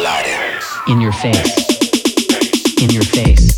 In your face. In your face.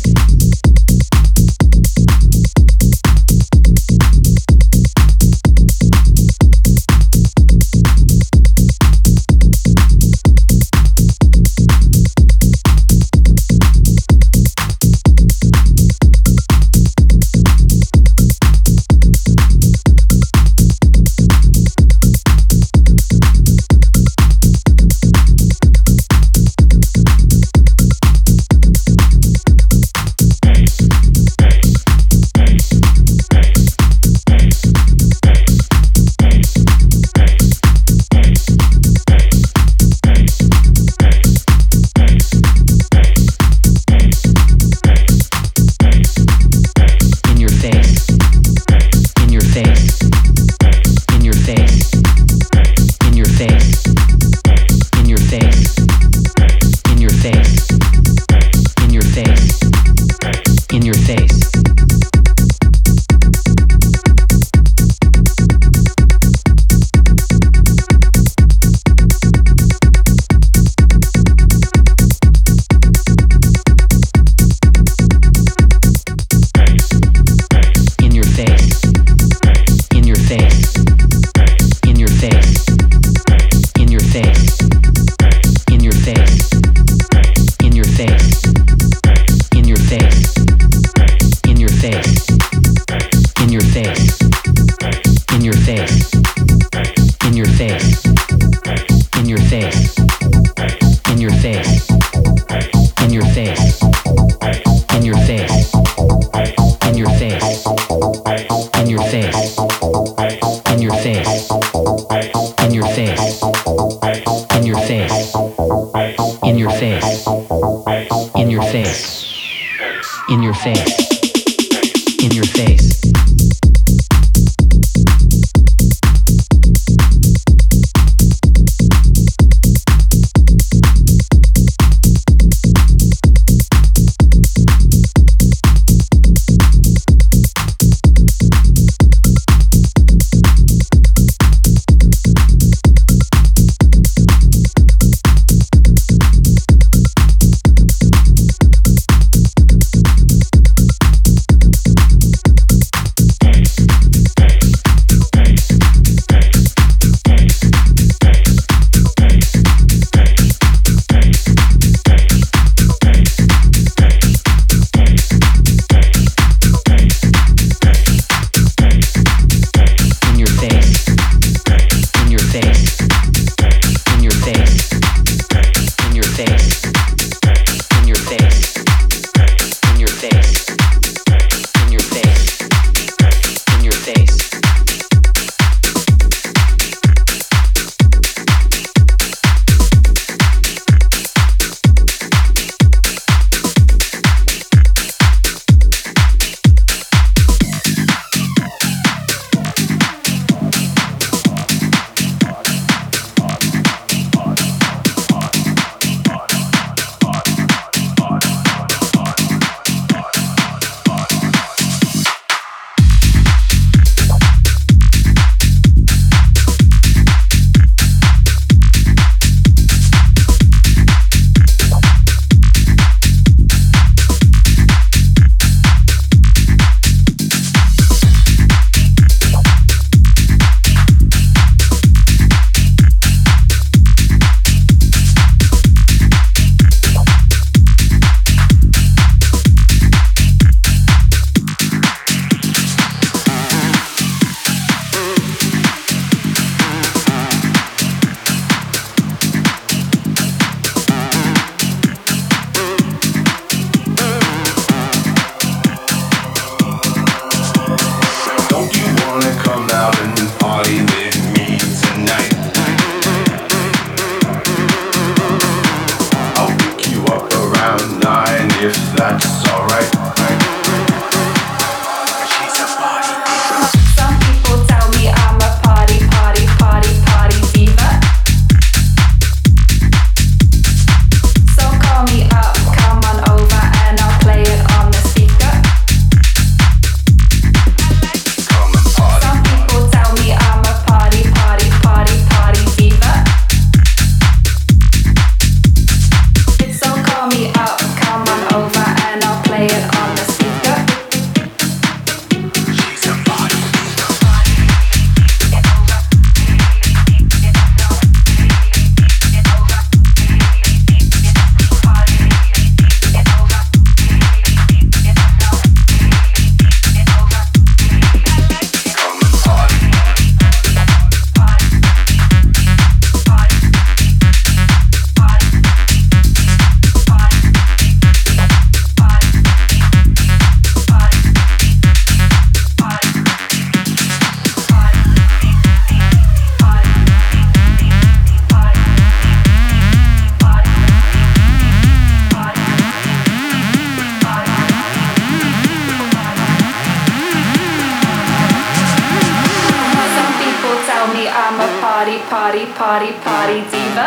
party, party, party diva.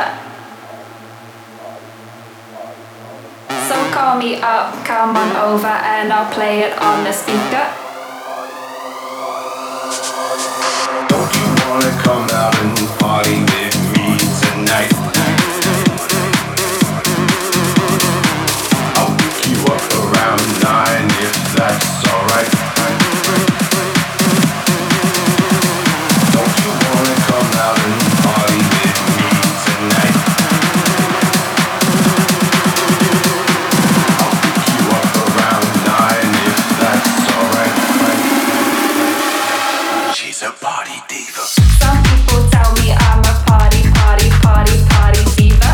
So call me up, come on over and I'll play it on the speaker. Don't you wanna come out and party with me tonight? I'll pick you up around 9 if that's alright. Don't you wanna come out and party with me tonight? I'll pick you up around 9 if that's alright. She's a party diva. Some people tell me I'm a party, party, party, party diva.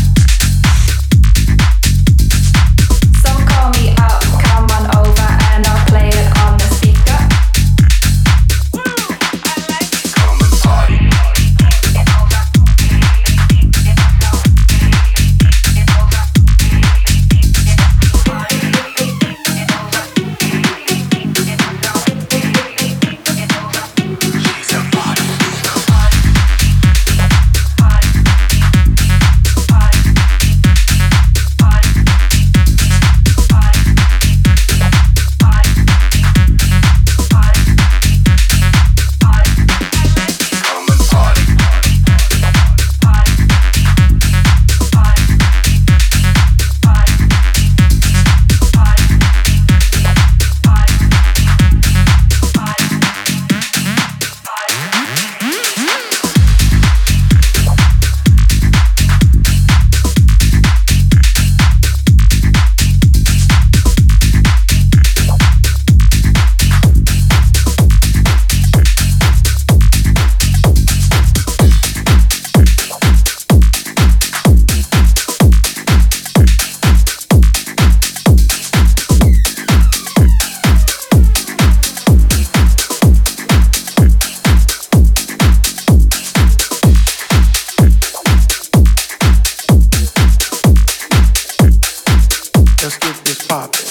So call me up, come on over and I'll play it on the speaker. Come and party. She's a party diva. Come and party. Let's get this poppin'.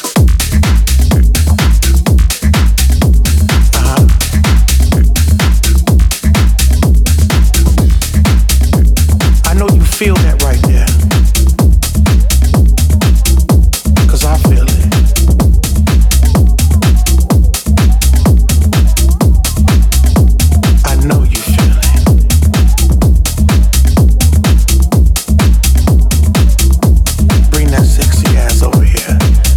I know you feel that right there. 'Cause I feel it. I know you feel it. Bring that sexy ass over here.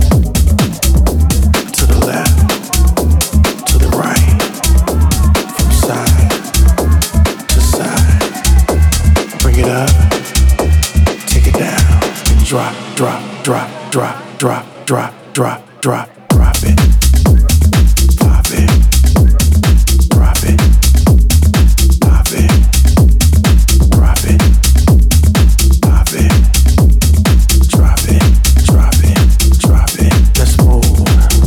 To the left, to the right, from side to side. Bring it up, take it down, and drop, drop, drop, drop, drop, drop, drop, drop, drop it. Pop it, drop it, pop it, drop it, pop it. Drop it, drop it, drop it. Let's move.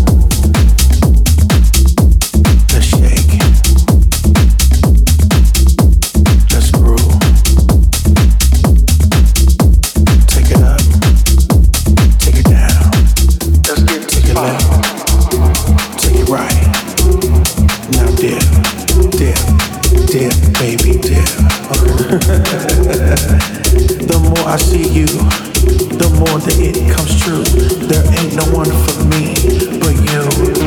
Let's shake. Let's groove. Take it up. Take it down. Let's get take it left. Take it right. Now dip, dip, dip, baby, dip. The more I see you, the more that it comes true. There ain't no one for me but you.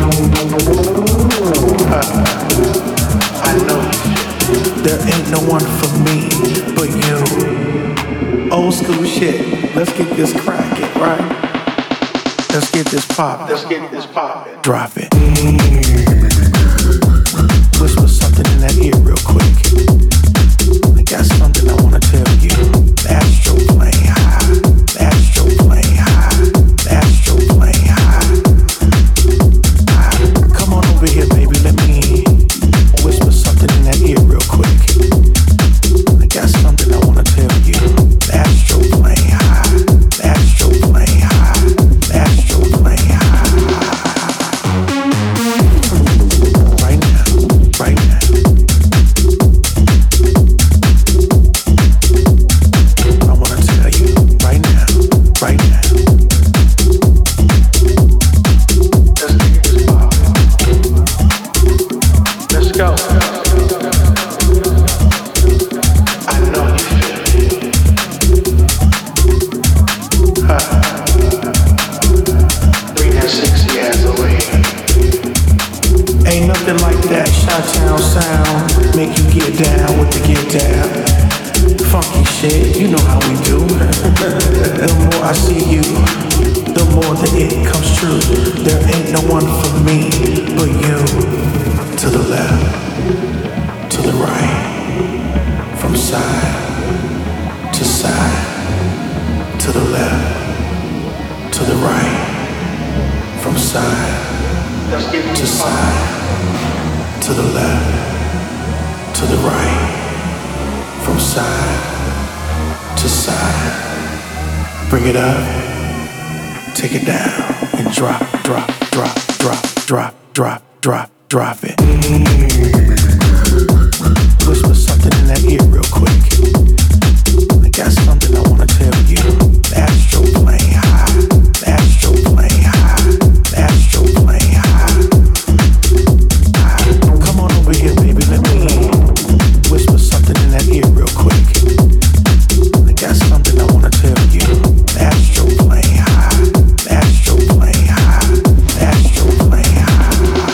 I know there ain't no one for me but you. Old school shit. Let's get this crackin', right? Let's get this pop. Let's get this pop. Drop it. Whisper something in that ear real quick. I got something I wanna tell you. The astro playing high. The astro playing high. The astro playing high. Come on over here, baby. Let me whisper something in that ear real quick. I got something I wanna tell you. The astro playing high. The astro playing high. The astro playing high. Right now. Right now. Bring that sexy ass away. Ain't nothing like that Chi-Town sound. Make you get down with the get down. Funky shit, you know how we do. The more I see you, the more that it comes true. There ain't no one for me but you. To the left, to the right, from side to side, to the left, to the right, from side to side, to the left, to the right, from side to side. Bring it up, take it down, and drop, drop, drop, drop, drop, drop, drop, drop it. Whisper something in that ear real quick. I got something I wanna tell you. The astro plane high, the astro plane high, the astro plane high. Come on over here, baby, let me whisper something in that ear real quick. I got something I wanna tell you. The astro plane high, the astro plane high, the astro plane high.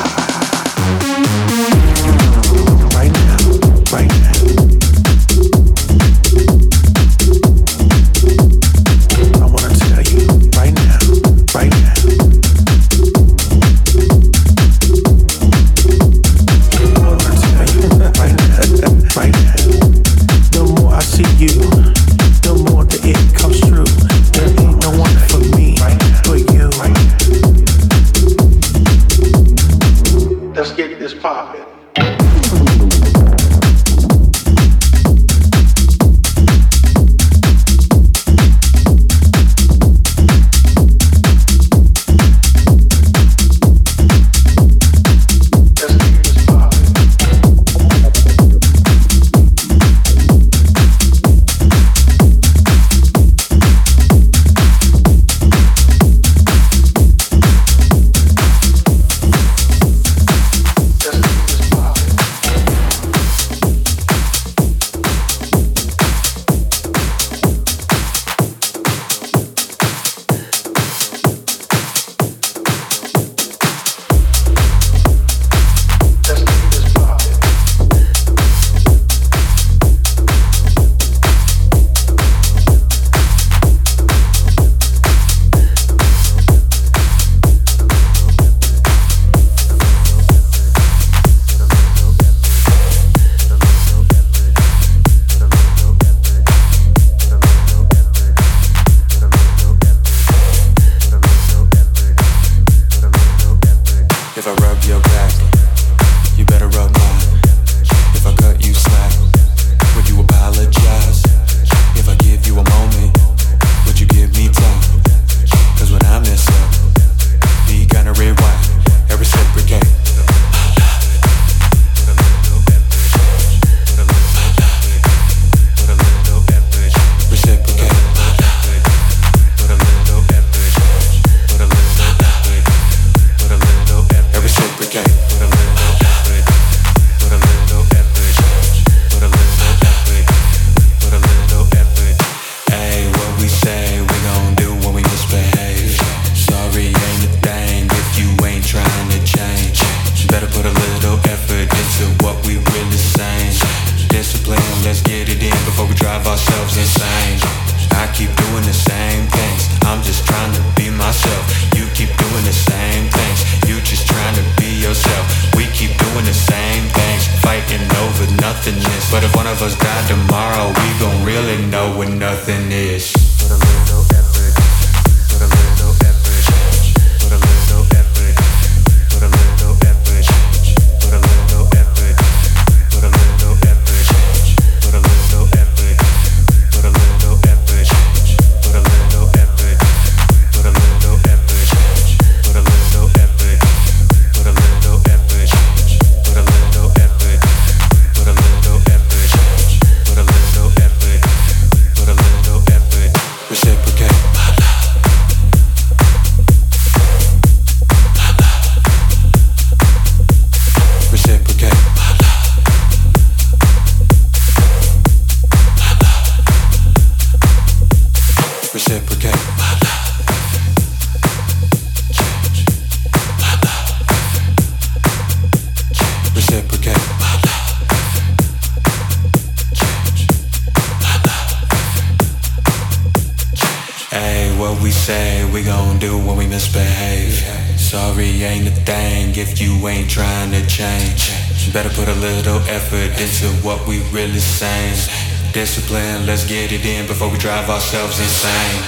Right now, right now. I wanna tell you right now, right now. I wanna tell you right now, right now. The more I see you, the more that it comes true. There ain't no one for me but you. Let's get this poppin'. Put a little effort What we say, we gon' do when we misbehave. Sorry ain't a thing if you ain't trying to change. Better put a little effort into what we really saying. Discipline, let's get it in before we drive ourselves insane.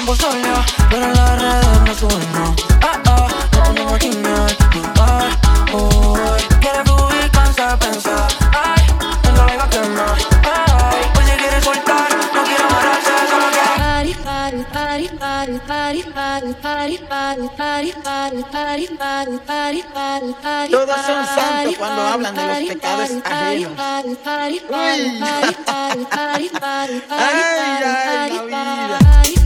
tiempo sola, pero en las redes no suben, no. No puedo imaginar lugar hoy. Quiere fluir, cansa de pensar. Ay, no la iba a quemar. Ay, pues si quiere soltar, no quiere amarrarse, solo quiere Todos son santos cuando hablan de los pecados ajenos. Uy. Ay, la vida.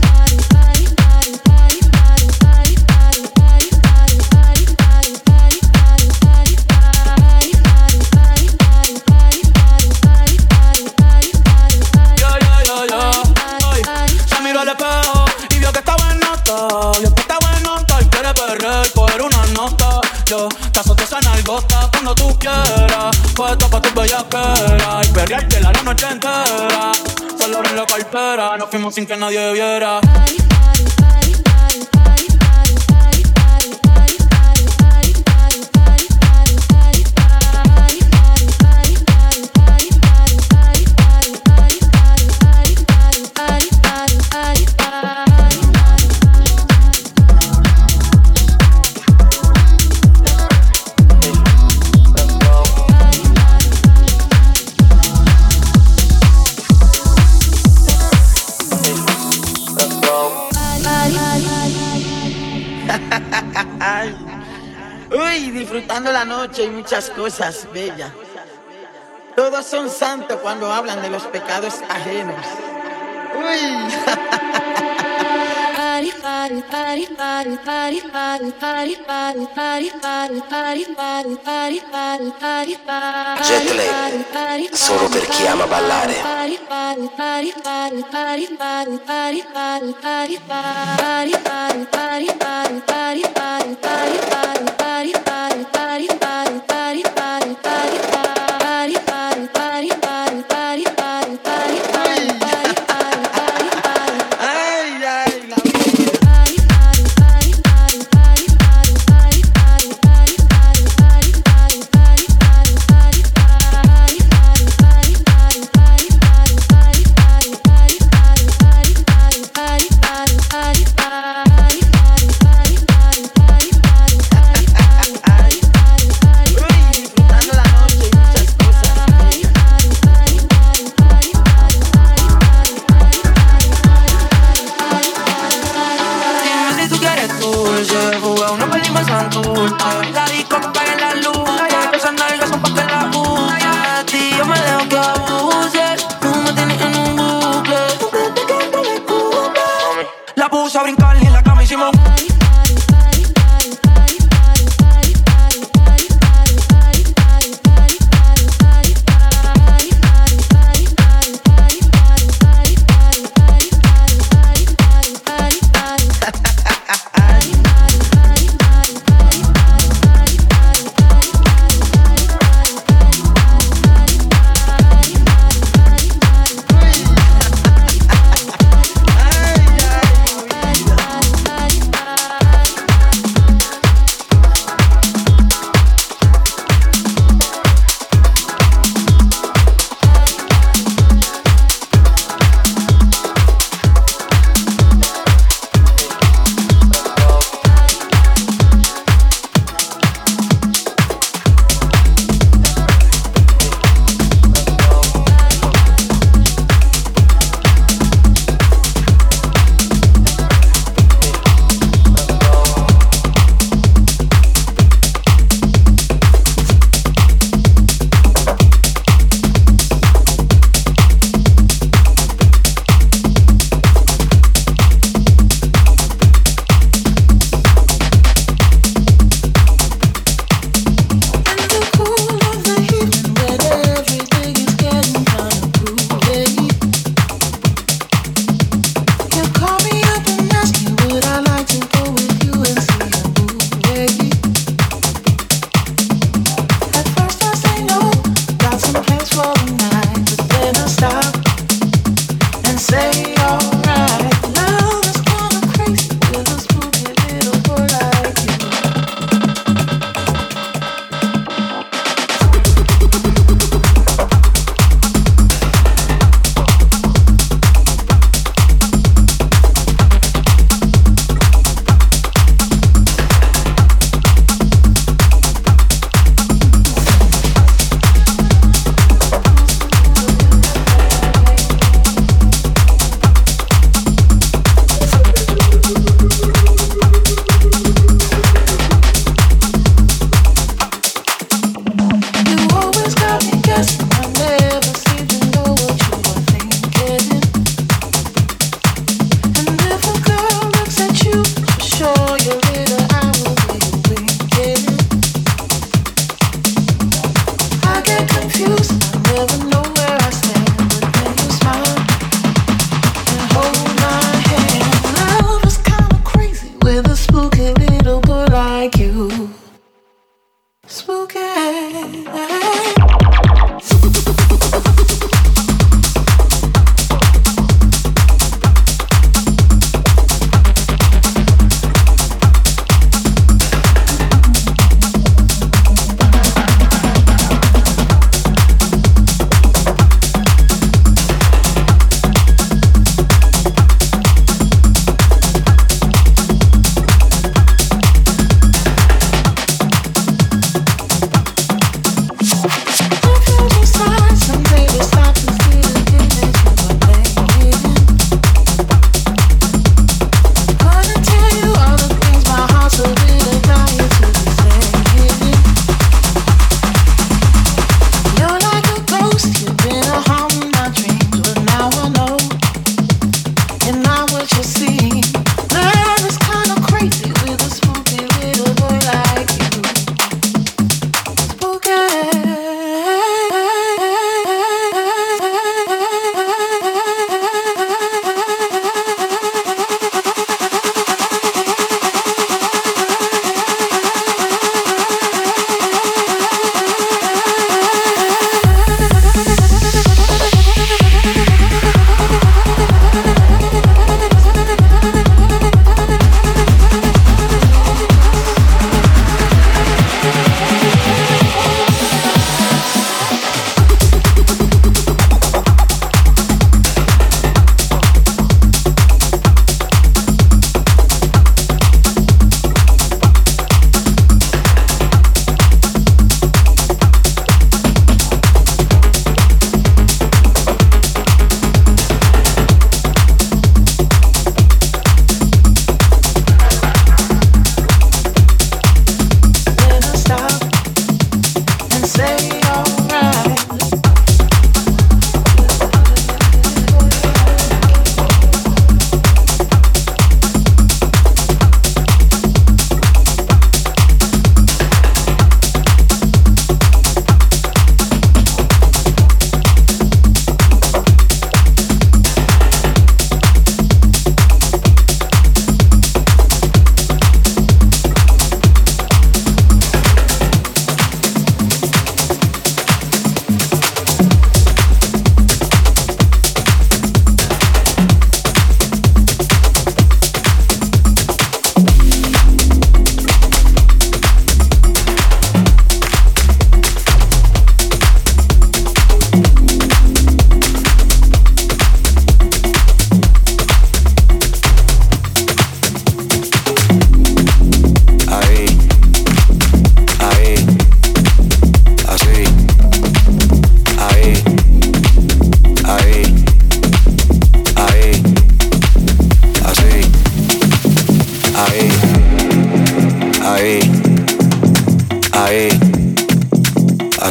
Al espejo y vio que está buenota, vio que está buenota y quiere perder y coger una nota. Yo te azoto esa nalgota cuando tú quieras, puesto pa' tu bellaquera y perrearte la noche entera. Solo en la cartera, nos fuimos sin que nadie viera. Uy, disfrutando la noche y muchas cosas bellas. Todos son santos cuando hablan de los pecados ajenos. Uy. Jetlag, solo per chi ama ballare. La disco que apague la luz, esas nalgas son pa' que la use. De ti yo me dejo que abuses, tú me tienes en un bucle. La puse a brincar y en la cama hicimos.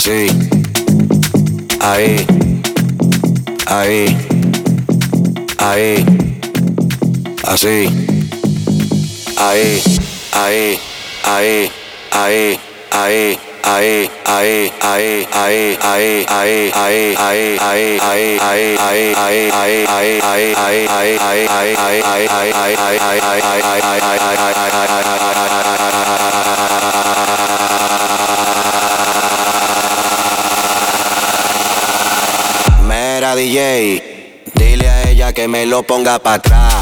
Así. Ahí. Ahí. Ahí. Así. Ahí. Ahí. Ahí. Ahí. Ahí. Ahí, ahí, ahí, ahí, ahí, ahí, ahí, ahí, ahí, ahí, ahí, ahí, ahí, ahí, ahí, ahí, ahí, ahí, Mira DJ, dile a ella que me lo ponga pa' atrás.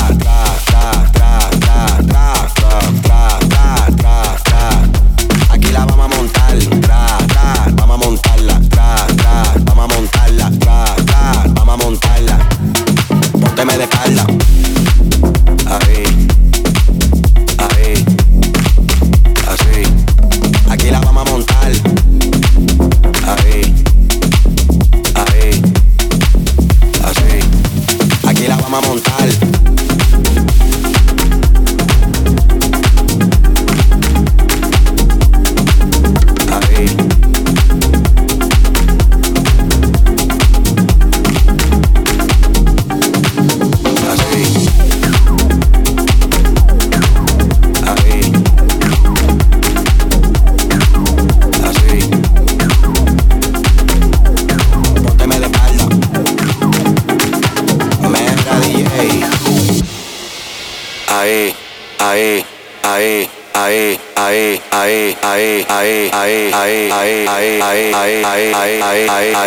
Aquí la vamos a montar, vamos a montarla, vamos a montarla, vamos a montarla. Pónteme de espalda. Ahí, ahí, así. Aquí la vamos a montar. Ahí, ahí, así. Aquí la vamos a montar. Ahí, ahí, ahí, ahí, ahí, ahí, ahí, ahí, ahí, ahí, ahí, ahí, ahí, ahí, ahí,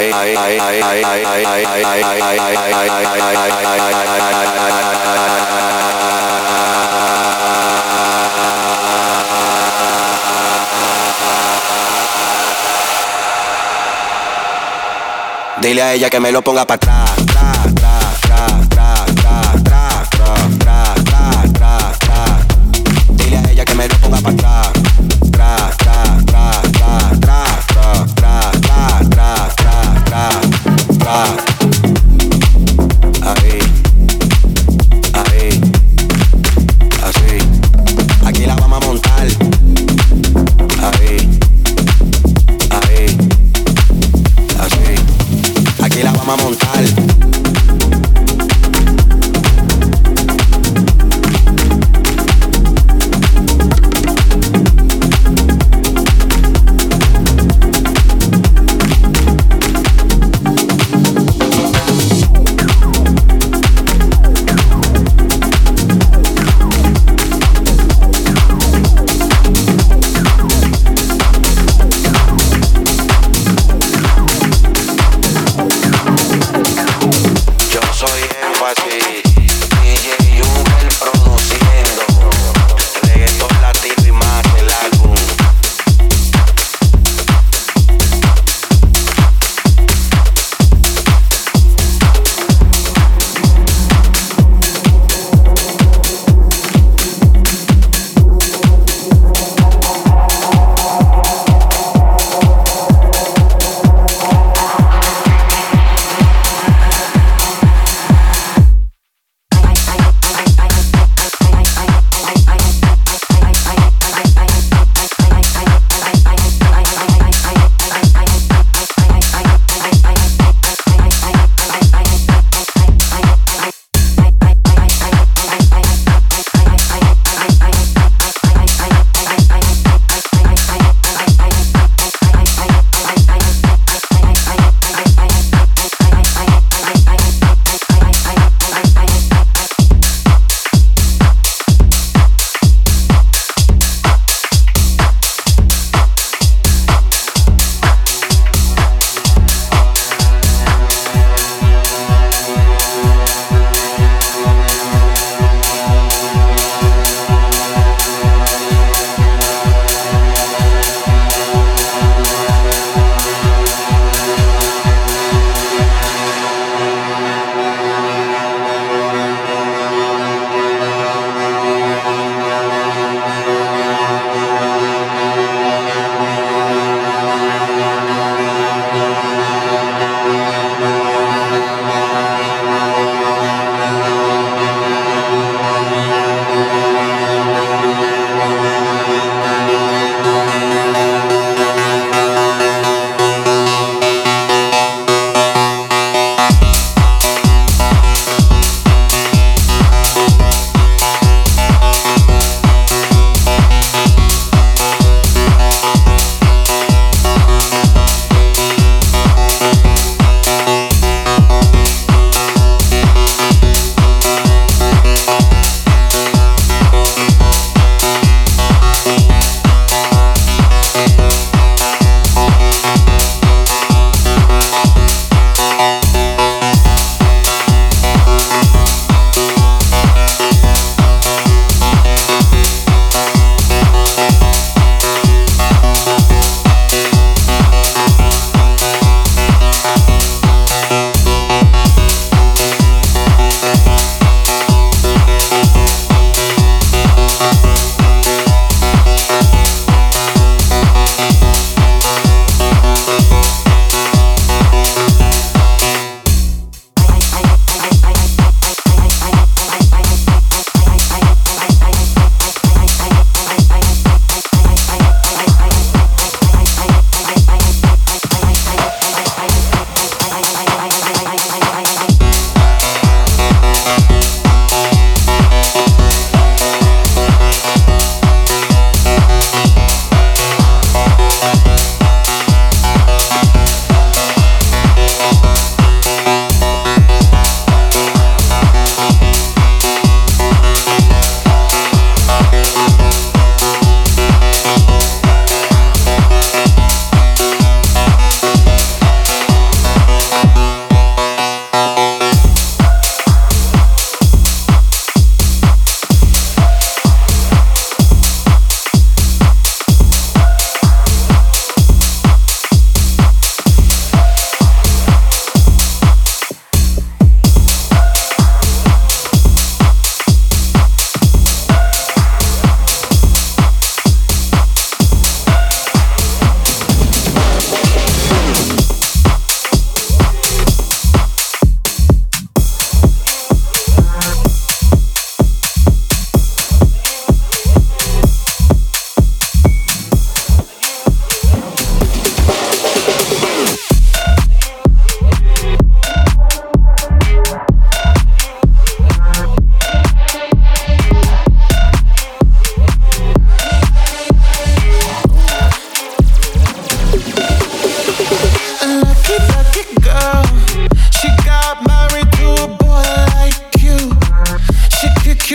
dile a ella que me lo ponga para atrás. Dile a ella que me lo ponga para atrás. Ahí, ahí, así. Aquí la vamos a montar. Ahí, ahí, así. Aquí la vamos a montar.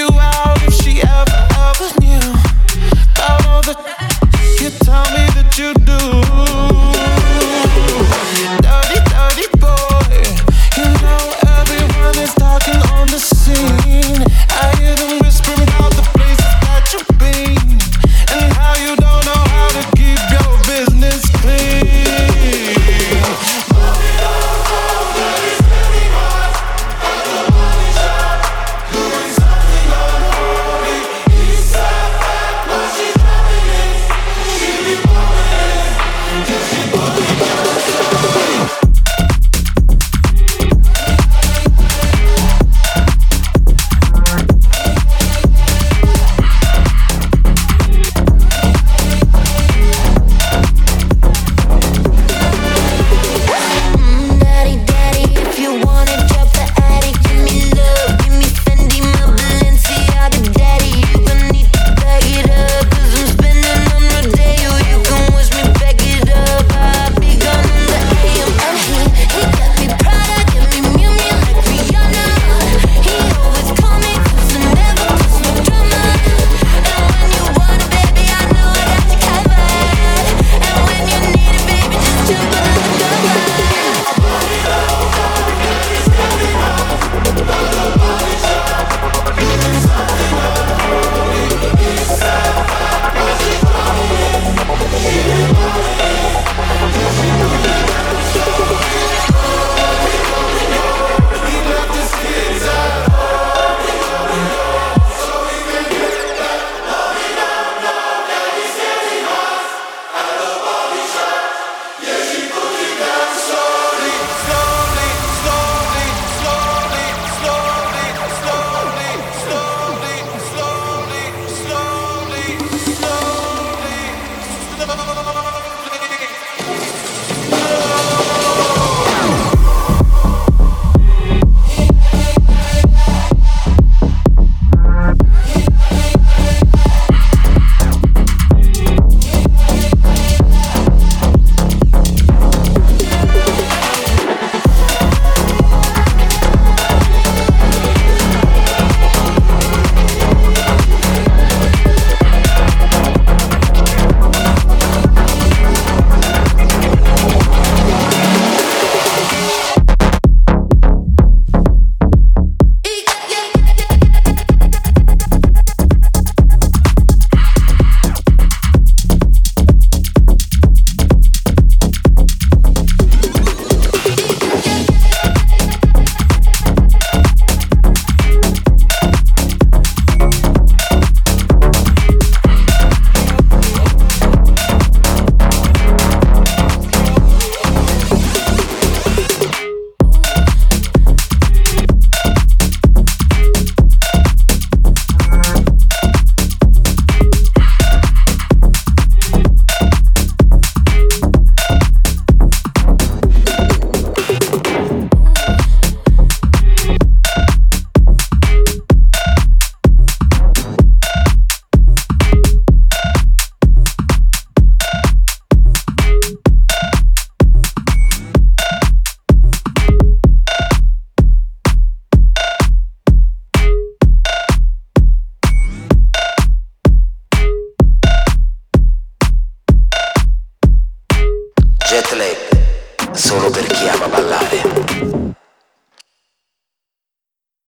out if she ever knew about all the you tell me that you do. Dirty, dirty boy, you know everyone is talking on the scene. I hear them whispering about the places that you've been and how you don't know how to keep your business clean. Jet lag, solo per chi ama ballare.